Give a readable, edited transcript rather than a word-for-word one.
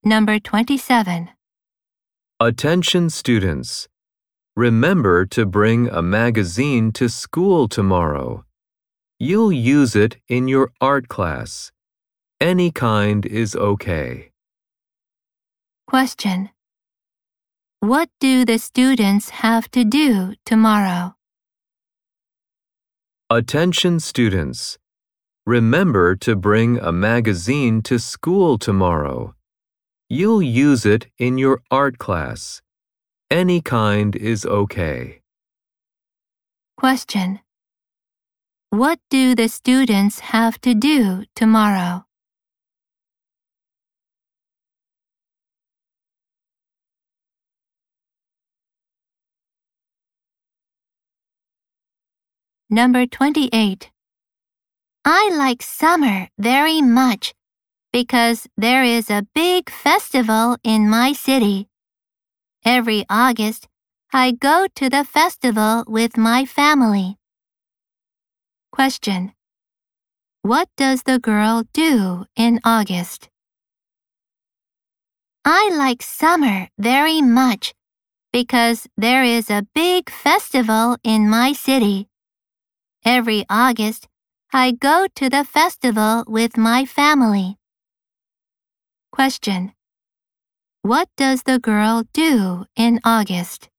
Number 27. Attention students. Remember to bring a magazine to school tomorrow. You'll use it in your art class. Any kind is okay. Question. What do the students have to do tomorrow? Attention students. Remember to bring a magazine to school tomorrow. You'll use it in your art class. Any kind is okay. Question. What do the students have to do tomorrow? Number 28. I like summer very much because there is a big festival in my city. Every August, I go to the festival with my family. Question. What does the girl do in August? I like summer very much because there is a big festival in my city. Every August, I go to the festival with my family. Question. What does the girl do in August?